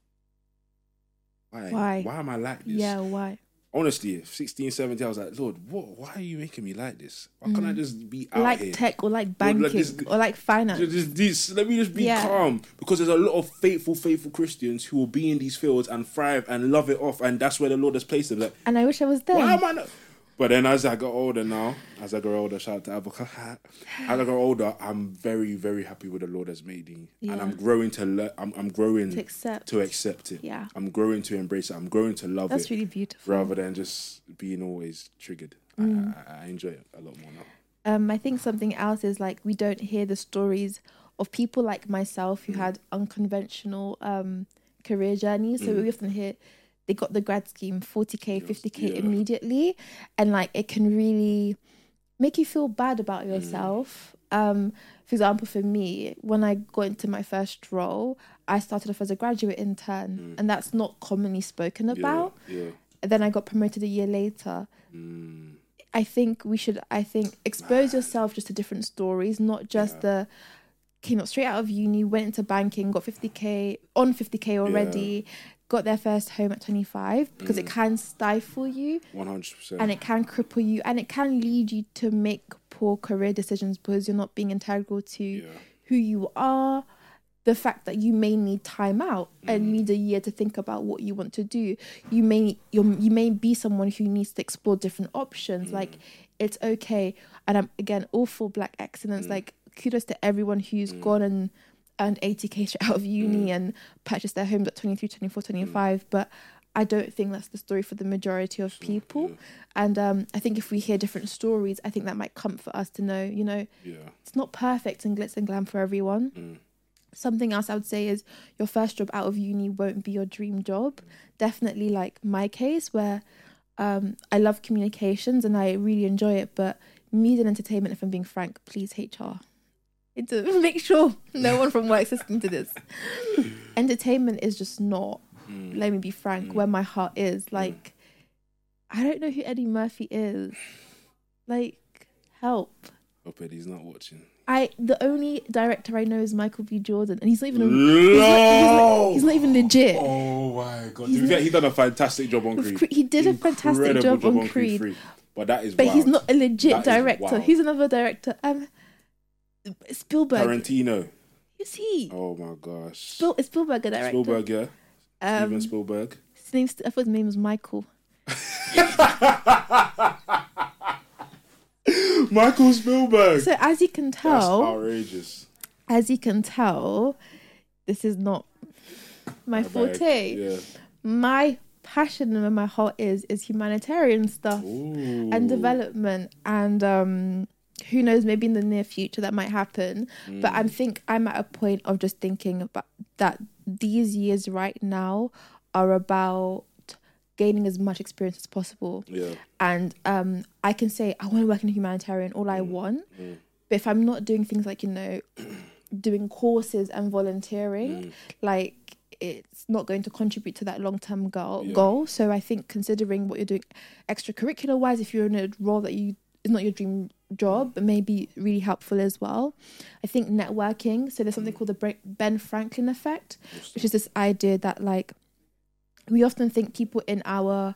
why? Why? Why am I like this? Yeah, why? Honestly, sixteen, seventeen, I was like, Lord, what? Why are you making me like this? Why can't mm. I just be out like here? Like tech or like banking or like, this, or like finance? Just, this, let me just be yeah. calm. Because there's a lot of faithful, faithful Christians who will be in these fields and thrive and love it off. And that's where the Lord has placed them. Like, and I wish I was there. Why am I not? But then as I got older now, as I got older, shout out to Abaka, as I got older, I'm very, very happy with the Lord has made me. Yeah. And I'm growing to le- I'm, I'm growing to accept. to accept it. Yeah. I'm growing to embrace it. I'm growing to love That's it. That's really beautiful. Rather than just being always triggered. Mm. I, I, I enjoy it a lot more now. Um, I think something else is like we don't hear the stories of people like myself who mm. had unconventional um, career journeys. So mm. we often hear they got the grad scheme, forty K, fifty K yeah. immediately. And like, it can really make you feel bad about yourself. um, for example, for me, when I got into my first role, I started off as a graduate intern, mm. and that's not commonly spoken about. Yeah, yeah. Then I got promoted a year later. Mm. I think we should, I think, expose Man. yourself just to different stories, not just yeah. the came up straight out of uni, went into banking, got fifty K, on fifty K already, yeah. got their first home at twenty-five, because mm. it can stifle you. one hundred percent. And it can cripple you, and it can lead you to make poor career decisions because you're not being integral to yeah. who you are. The fact that you may need time out mm. and need a year to think about what you want to do. You may you're, you may be someone who needs to explore different options. Mm. Like, it's okay. And I'm, again, all for Black excellence. Mm. Like, kudos to everyone who's mm. gone and earned eighty K straight out of uni mm. and purchased their homes at twenty-three, twenty-four, twenty-five. Mm. But I don't think that's the story for the majority of people. Yeah. And um, I think if we hear different stories, I think that might comfort us to know, you know, yeah. it's not perfect and glitz and glam for everyone. Mm. Something else I would say is your first job out of uni won't be your dream job. Definitely like my case, where um, I love communications and I really enjoy it, but media and entertainment, if I'm being frank, please H R. To make sure no one from work's listening to this. Entertainment is just not, mm. let me be frank, mm. where my heart is. Like, mm. I don't know who Eddie Murphy is. Like, help. Hope Eddie's not watching. I the only director I know is Michael B. Jordan, and he's not even a, he's, not, he's, not, he's not even legit. Oh my god! He's, he's done a fantastic job on Creed. He did Incredible a fantastic job, job on, on Creed. Creed but that is but wild. He's not a legit that director. He's another director. Um, Spielberg. Tarantino. Who's he? Oh my gosh. Spiel, is Spielberg a director? Spielberg, yeah. Um, Steven Spielberg. His name's, I thought his name was Michael. Michael Spielberg. So as you can tell, that's outrageous. As you can tell, this is not my, my forte. Yeah. My passion and where my heart is is humanitarian stuff Ooh. and development, and um, who knows, maybe in the near future that might happen. Mm. But I think I'm at a point of just thinking about that these years right now are about gaining as much experience as possible. Yeah. And um, I can say, I want to work in a humanitarian, all I mm. want. Mm. But if I'm not doing things like, you know, doing courses and volunteering, mm. like, it's not going to contribute to that long-term goal. Yeah. goal. So I think considering what you're doing extracurricular-wise, if you're in a role that you is not your dream job, but may be really helpful as well. I think networking. So there's something mm. called the Ben Franklin effect, which is this idea that, like, we often think people in our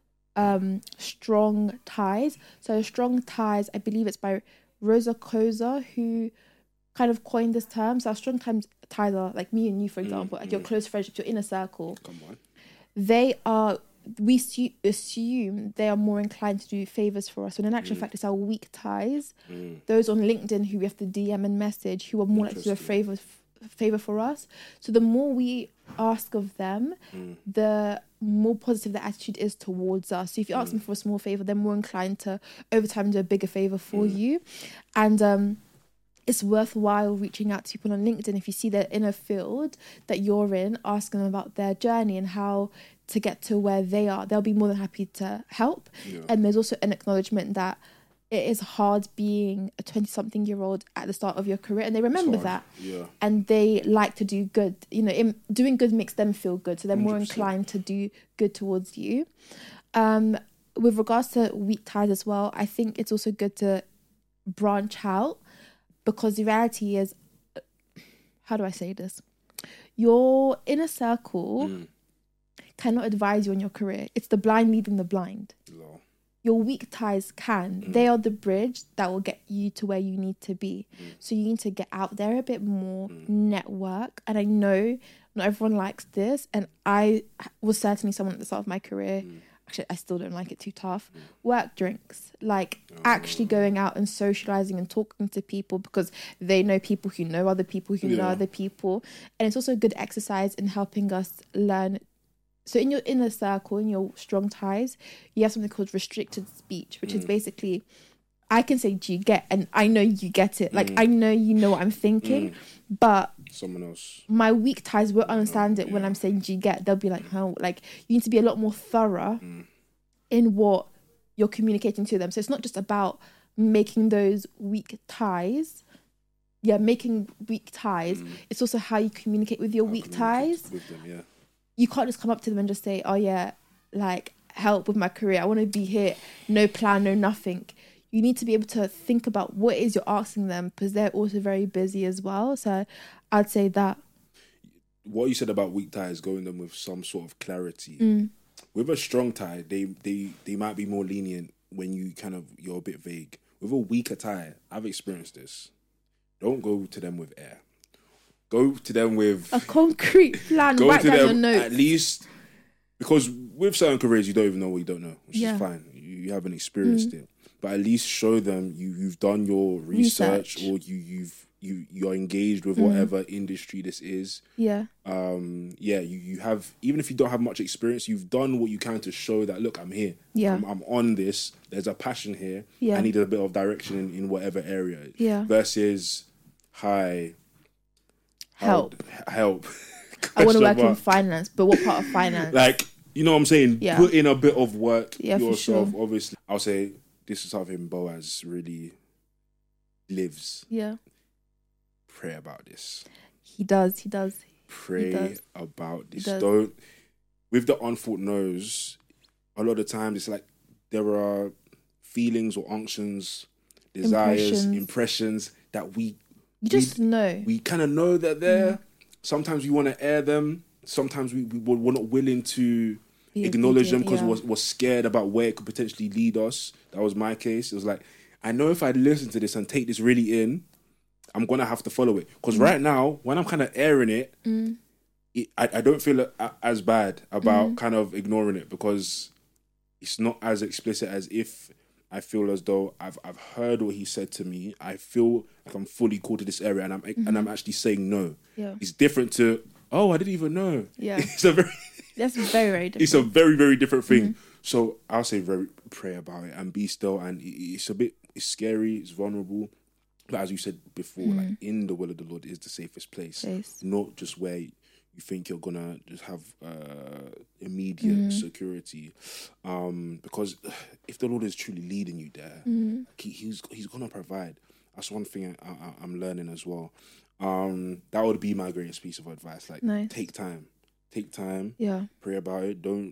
um, strong ties. So strong ties, I believe it's by Rosa Koza, who kind of coined this term. So our strong ties are like me and you, for example, mm, like mm. your close friendships, your inner circle. Come on. They are, we su- assume they are more inclined to do favours for us. When in actual mm. fact, it's our weak ties. Mm. Those on LinkedIn who we have to D M and message, who are more likely to do a favour favor for us. So the more we ask of them, mm. the more positive their attitude is towards us. So if you ask mm. them for a small favor, they're more inclined to over time do a bigger favor for mm. you. And um it's worthwhile reaching out to people on LinkedIn if you see they're in a field that you're in, asking them about their journey and how to get to where they are. They'll be more than happy to help. Yeah. And there's also an acknowledgement that it is hard being a twenty-something-year-old at the start of your career, and they remember that. Yeah. And they like to do good. You know, in, doing good makes them feel good, so they're more one hundred percent inclined to do good towards you. Um, with regards to weak ties as well, I think it's also good to branch out, because the reality is, how do I say this? Your inner circle mm. cannot advise you on your career. It's the blind leading the blind. No. Your weak ties can. Mm. They are the bridge that will get you to where you need to be. Mm. So you need to get out there a bit more, mm. network. And I know not everyone likes this. And I was certainly someone at the start of my career. Mm. Actually, I still don't like it, too tough. Mm. Work drinks. Like oh. actually going out and socializing and talking to people, because they know people who know other people who yeah. know other people. And it's also a good exercise in helping us learn. So in your inner circle, in your strong ties, you have something called restricted speech, which mm. is basically, I can say, do you get? And I know you get it. Like, mm. I know you know what I'm thinking, mm. but someone else, my weak ties won't understand it yeah. when I'm saying, do you get? They'll be like, oh, like, you need to be a lot more thorough mm. in what you're communicating to them. So it's not just about making those weak ties, yeah, making weak ties. Mm. It's also how you communicate with your how weak ties. With them, yeah. You can't just come up to them and just say, oh yeah, like, help with my career. I want to be here. No plan, no nothing. You need to be able to think about what it is you're asking them, because they're also very busy as well. So I'd say that. What you said about weak ties, going them with some sort of clarity. Mm. With a strong tie, they, they, they might be more lenient when you kind of, you're a bit vague. With a weaker tie, I've experienced this. Don't go to them with air. Go to them with... a concrete plan, go write to down them your notes. At least... Because with certain careers, you don't even know what you don't know, which yeah. is fine. You, you haven't experienced mm. it. But at least show them you, you've done your research, research. or you, you've, you, you're engaged with mm. whatever industry this is. Yeah. Um. Yeah, you, you have... Even if you don't have much experience, you've done what you can to show that, look, I'm here. Yeah. I'm, I'm on this. There's a passion here. Yeah. I need a bit of direction in, in whatever area. Yeah. Versus, hi... Help. Help. I want to work in finance, but what part of finance? Like, you know what I'm saying? Yeah. Put in a bit of work yeah, yourself, sure. obviously. I'll say this is something Boaz really lives. Yeah. Pray about this. He does, he does. Pray he does. about this. Don't, with the unthought no's, a lot of times it's like there are feelings or unctions, desires, impressions, impressions that we You just we, know. We kind of know they're there. Mm. Sometimes we want to air them. Sometimes we, we, we're not willing to Be acknowledge them because yeah. we're, we're scared about where it could potentially lead us. That was my case. It was like, I know if I listen to this and take this really in, I'm going to have to follow it. Because mm. right now, when I'm kind of airing it, mm. it I, I don't feel as bad about mm. kind of ignoring it, because it's not as explicit as if I feel as though I've I've heard what he said to me. I feel like I'm fully called to this area, and I'm mm-hmm. and I'm actually saying no. Yeah. It's different to, oh, I didn't even know. Yeah. It's a very That's very, very different. It's a very, very different thing. Mm-hmm. So I'll say very pray about it and be still. And it's a bit it's scary, it's vulnerable. But as you said before, mm-hmm. like in the will of the Lord is the safest place. place. Not just where you think you're gonna just have uh, immediate mm-hmm. security, um, because if the Lord is truly leading you there, mm-hmm. he, he's he's gonna provide. That's one thing I, I, I'm learning as well. Um, that would be my greatest piece of advice. Like, nice. take time, take time. Yeah, pray about it. Don't.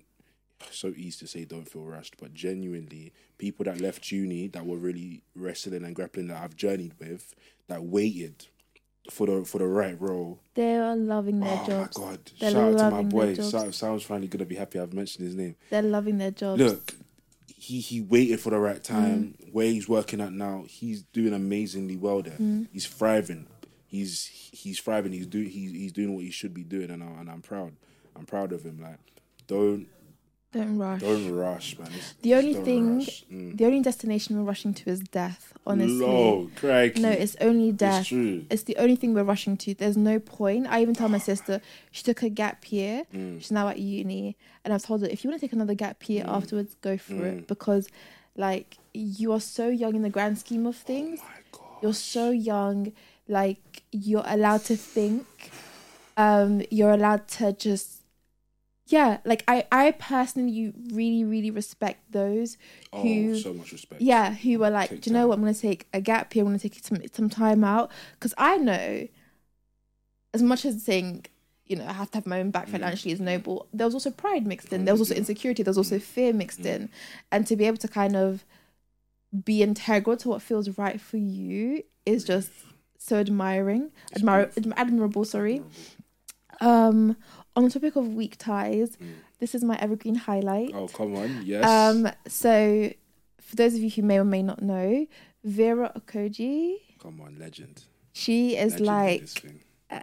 So easy to say, don't feel rushed, but genuinely, people that left uni that were really wrestling and grappling, that I've journeyed with, that waited for the for the right role. They are loving their oh jobs. Oh my God. They're Shout out to my boy. Sounds, sounds finally going to be happy I've mentioned his name. They're loving their jobs. Look, he, he waited for the right time. Mm. Where he's working at now, he's doing amazingly well there. Mm. He's thriving. He's he's thriving. He's doing he's, he's doing what he should be doing, and, I, and I'm proud. I'm proud of him. Like, don't... Don't rush. Don't rush, man. It's, the only don't thing, mm. the only destination we're rushing to is death, honestly. No, crikey. No, it's only death. It's true. It's the only thing we're rushing to. There's no point. I even tell my sister, she took a gap year. Mm. She's now at uni. And I've told her, if you want to take another gap year mm. afterwards, go for mm. it. Because, like, you are so young in the grand scheme of things. Oh my God. You're so young. Like, you're allowed to think. Um, you're allowed to just... Yeah, like I, I personally really, really respect those who... Oh, so much respect. Yeah, who were like, take do you know time. what, I'm going to take a gap here, I'm going to take some, some time out. Because I know, as much as saying, you know, I have to have my own back financially mm. is noble, there was also pride mixed in. There was also insecurity. There was also fear mixed mm. in. And to be able to kind of be integral to what feels right for you is just so admiring. Admir- admirable, sorry. Um... On the topic of weak ties, mm. this is my evergreen highlight. Oh, come on, yes. Um, so, for those of you who may or may not know, Vera Okoji. Come on, legend. She is legend like, uh,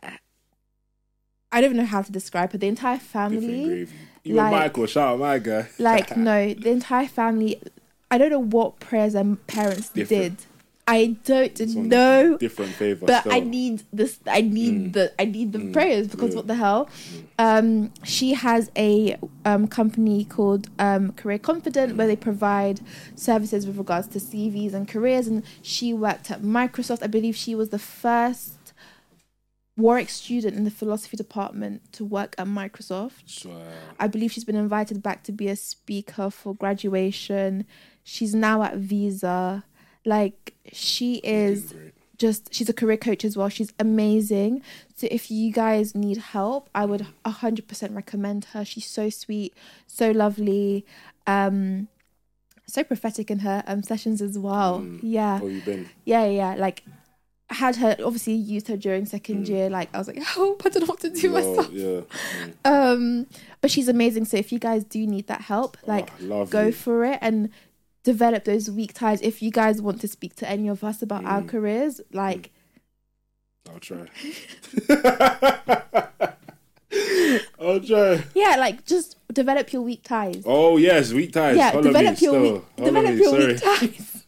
I don't even know how to describe her. The entire family. Even like, Michael, shout out my guy. Like, no, the entire family, I don't know what prayers their parents Different. did. I don't know, different favor, but still. I need this. I need mm. the. I need the mm. prayers because yeah. what the hell? Mm. Um, she has a um, company called um, Career Confident, mm. where they provide services with regards to C Vs and careers. And she worked at Microsoft. I believe she was the first Warwick student in the philosophy department to work at Microsoft. Swear. I believe she's been invited back to be a speaker for graduation. She's now at Visa. Like, she is just, she's a career coach as well. She's amazing. So if you guys need help, I would one hundred percent recommend her. She's so sweet, so lovely, um, so prophetic in her um, sessions as well. Mm. Yeah. Oh, you been? Yeah, yeah. Like, I had her, obviously used her during second mm. year. Like, I was like, help, I don't know what to do no, myself. Yeah. Mm. Um, but she's amazing. So if you guys do need that help, like, oh, go for it. And develop those weak ties. If you guys want to speak to any of us about mm. our careers, like mm. I'll try. I'll try. Yeah, like just develop your weak ties. Oh yes, weak ties. Yeah, Follow develop me, your still. weak, develop me, your sorry. weak ties.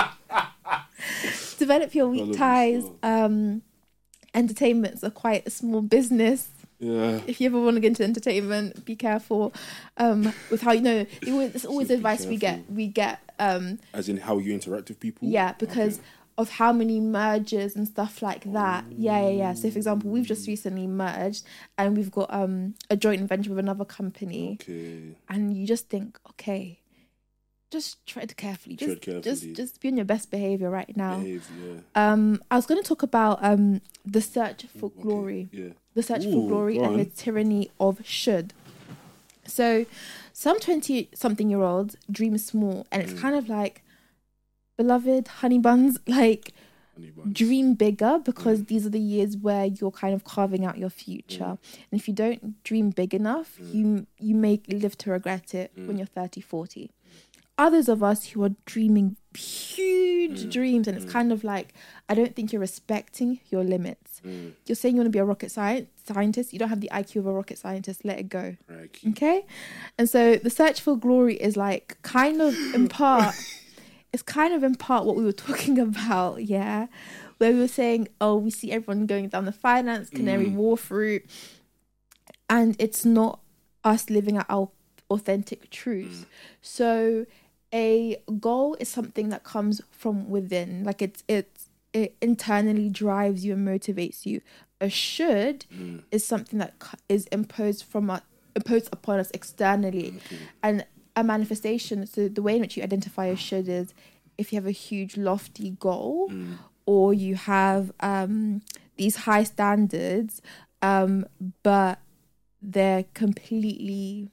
Develop your weak Follow ties. Um, entertainment's a quite a small business. Yeah. If you ever want to get into entertainment, be careful um, with how you know. It's always so advice we get. We get um, as in how you interact with people. Yeah, because okay. of how many mergers and stuff like that. Oh. Yeah, yeah, yeah. So, for example, we've just recently merged, and we've got um, a joint venture with another company. Okay. And you just think, okay, just tread carefully. Just, tread carefully. just, just be on your best behavior right now. Behave, yeah. Um, I was going to talk about um, the search for okay. glory. Yeah. The search Ooh, for glory and the tyranny of should. So, some twenty-something-year-olds dream small, and it's mm. kind of like, beloved honey buns, like, honey buns. Dream bigger, because mm. these are the years where you're kind of carving out your future. Mm. And if you don't dream big enough, mm. you you may live to regret it mm. when you're thirty, forty. Others of us who are dreaming huge mm. dreams, and it's mm. kind of like, I don't think you're respecting your limits. Mm. You're saying you want to be a rocket science scientist. You don't have the I Q of a rocket scientist. Let it go. Right. Okay? And so the search for glory is like kind of in part, it's kind of in part what we were talking about, yeah? Where we were saying, oh, we see everyone going down the finance, canary mm. wharf route, and it's not us living out our authentic truths. Mm. So a goal is something that comes from within, like it's it's it internally drives you and motivates you. A should mm. is something that is imposed from us, imposed upon us externally, okay. and a manifestation. So the way in which you identify a should is if you have a huge lofty goal, mm. or you have um, these high standards, um, but they're completely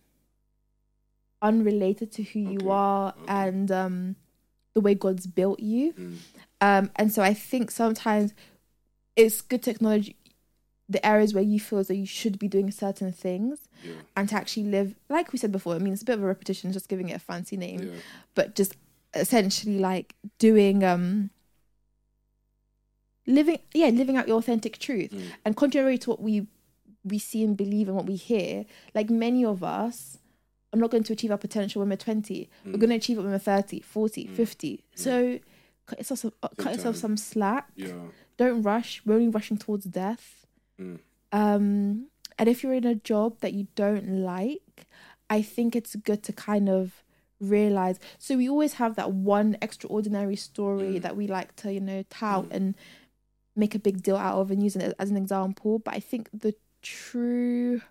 unrelated to who okay. you are okay. and um, the way God's built you. Mm. Um, and so I think sometimes it's good to acknowledge the areas where you feel as though you should be doing certain things, yeah. and to actually live, like we said before, I mean, it's a bit of a repetition, just giving it a fancy name, yeah. but just essentially like doing, um, living, yeah, living out your authentic truth. Mm. And contrary to what we, we see and believe and what we hear, like many of us, I'm not going to achieve our potential when we're twenty. Mm. We're going to achieve it when we're thirty, forty, mm. fifty. Mm. So cut yourself some, uh, cut yourself some slack. Yeah. Don't rush. We're only rushing towards death. Mm. Um, and if you're in a job that you don't like, I think it's good to kind of realize. So we always have that one extraordinary story mm. that we like to, you know, tout mm. and make a big deal out of and use it as an example. But I think the true...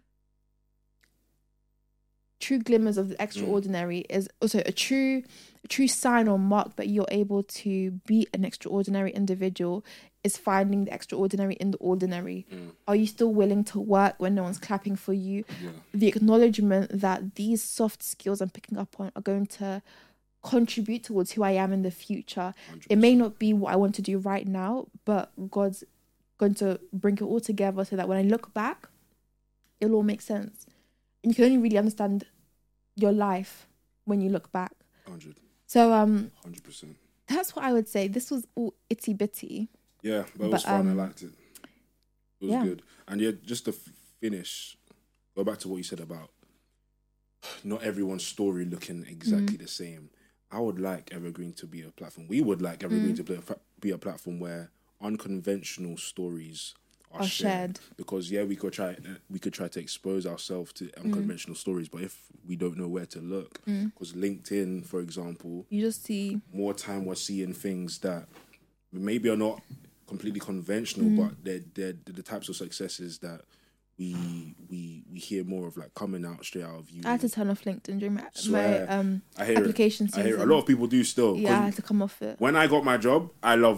true glimmers of the extraordinary mm. is also a true a true sign or mark that you're able to be an extraordinary individual is finding the extraordinary in the ordinary. Mm. Are you still willing to work when no one's clapping for you? Yeah. The acknowledgement that these soft skills I'm picking up on are going to contribute towards who I am in the future. one hundred percent. It may not be what I want to do right now, but God's going to bring it all together so that when I look back, it'll all make sense. And you can only really understand your life when you look back. one hundred. So, um... one hundred percent. That's what I would say. This was all itty bitty. Yeah, but it was but, fun. Um, I liked it. It was yeah. good. And yeah, just to finish, go back to what you said about not everyone's story looking exactly mm. the same. I would like Evergreen to be a platform. We would like Evergreen mm. to be a, be a platform where unconventional stories are, are shared. shared. Because yeah, we could try we could try to expose ourselves to unconventional mm. stories, but if we don't know where to look, because mm. LinkedIn, for example, you just see more time we're seeing things that maybe are not completely conventional, mm. but they're, they're they're the types of successes that we we we hear more of, like coming out straight out of uni. I had to turn off LinkedIn during my, my um I hear application it. season. I hear it. A lot of people do still. Yeah, I had to come off it. When I got my job, I loved it.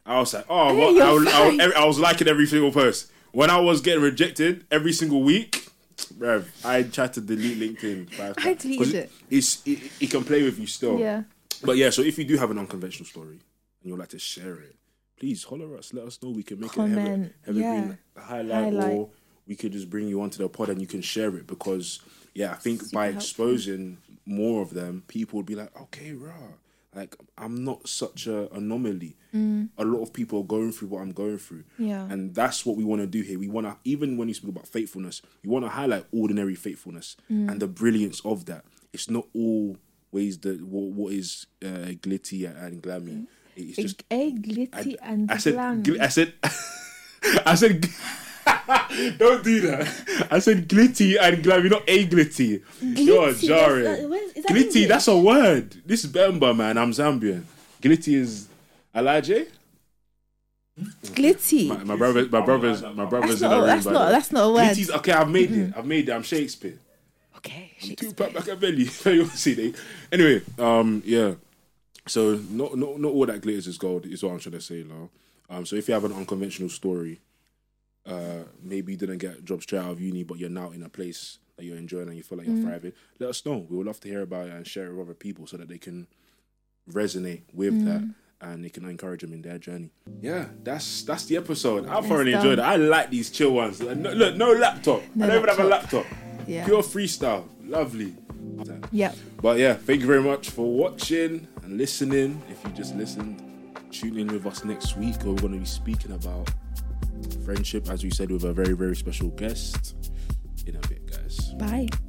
I was like, oh, hey, well, I, was, I, was, I was liking every single post. When I was getting rejected every single week, bruv, I tried to delete LinkedIn. I deleted it. It's, it. It can play with you still. Yeah. But yeah, so if you do have an unconventional story and you'd like to share it, please holler us. Let us know. We can make Comment. it evergreen Yeah. highlight, highlight, or we could just bring you onto the pod and you can share it. Because yeah, I think Super by helpful. exposing more of them, people would be like, okay, rah. Like, I'm not such an anomaly. Mm. A lot of people are going through what I'm going through. Yeah. And that's what we want to do here. We want to, even when you speak about faithfulness, we want to highlight ordinary faithfulness Mm. and the brilliance of that. It's not always the what, what is uh, glitty and glammy. It's a, just a glitty I, and I said, glammy. gl- I said, I said, don't do that. I said glitty and glammy, not a glitty. Glitty, You're jarring. that's, uh, where's- is that Glitty, English? that's a word. This is Bemba, man. I'm Zambian. Glitty is Alaje. Glitty. My, my brother, my brothers, my brothers That's in not, the room. that's by not, the way. that's not a word. Glitty's okay. I've made it. I've made it. I'm Shakespeare. Okay. I'm Shakespeare. Tupac Machiavelli. You see, they. Anyway, um, yeah. So not not not all that glitters is gold is what I'm trying to say now. Um, so if you have an unconventional story, uh, maybe you didn't get a job straight out of uni, but you're now in a place that you're enjoying and you feel like you're Mm. thriving, let us know. We would love to hear about it and share it with other people so that they can resonate with Mm. that and they can encourage them in their journey. Yeah, that's that's the episode. I've It's thoroughly done. enjoyed it. I like these chill ones. Like, no, look, no laptop. No I don't even have a laptop. laptop. Yeah. Pure freestyle. Lovely. Yep. But yeah, thank you very much for watching and listening. If you just listened, tune in with us next week where we're going to be speaking about friendship, as we said, with a very, very special guest. In a bit, guys. Bye.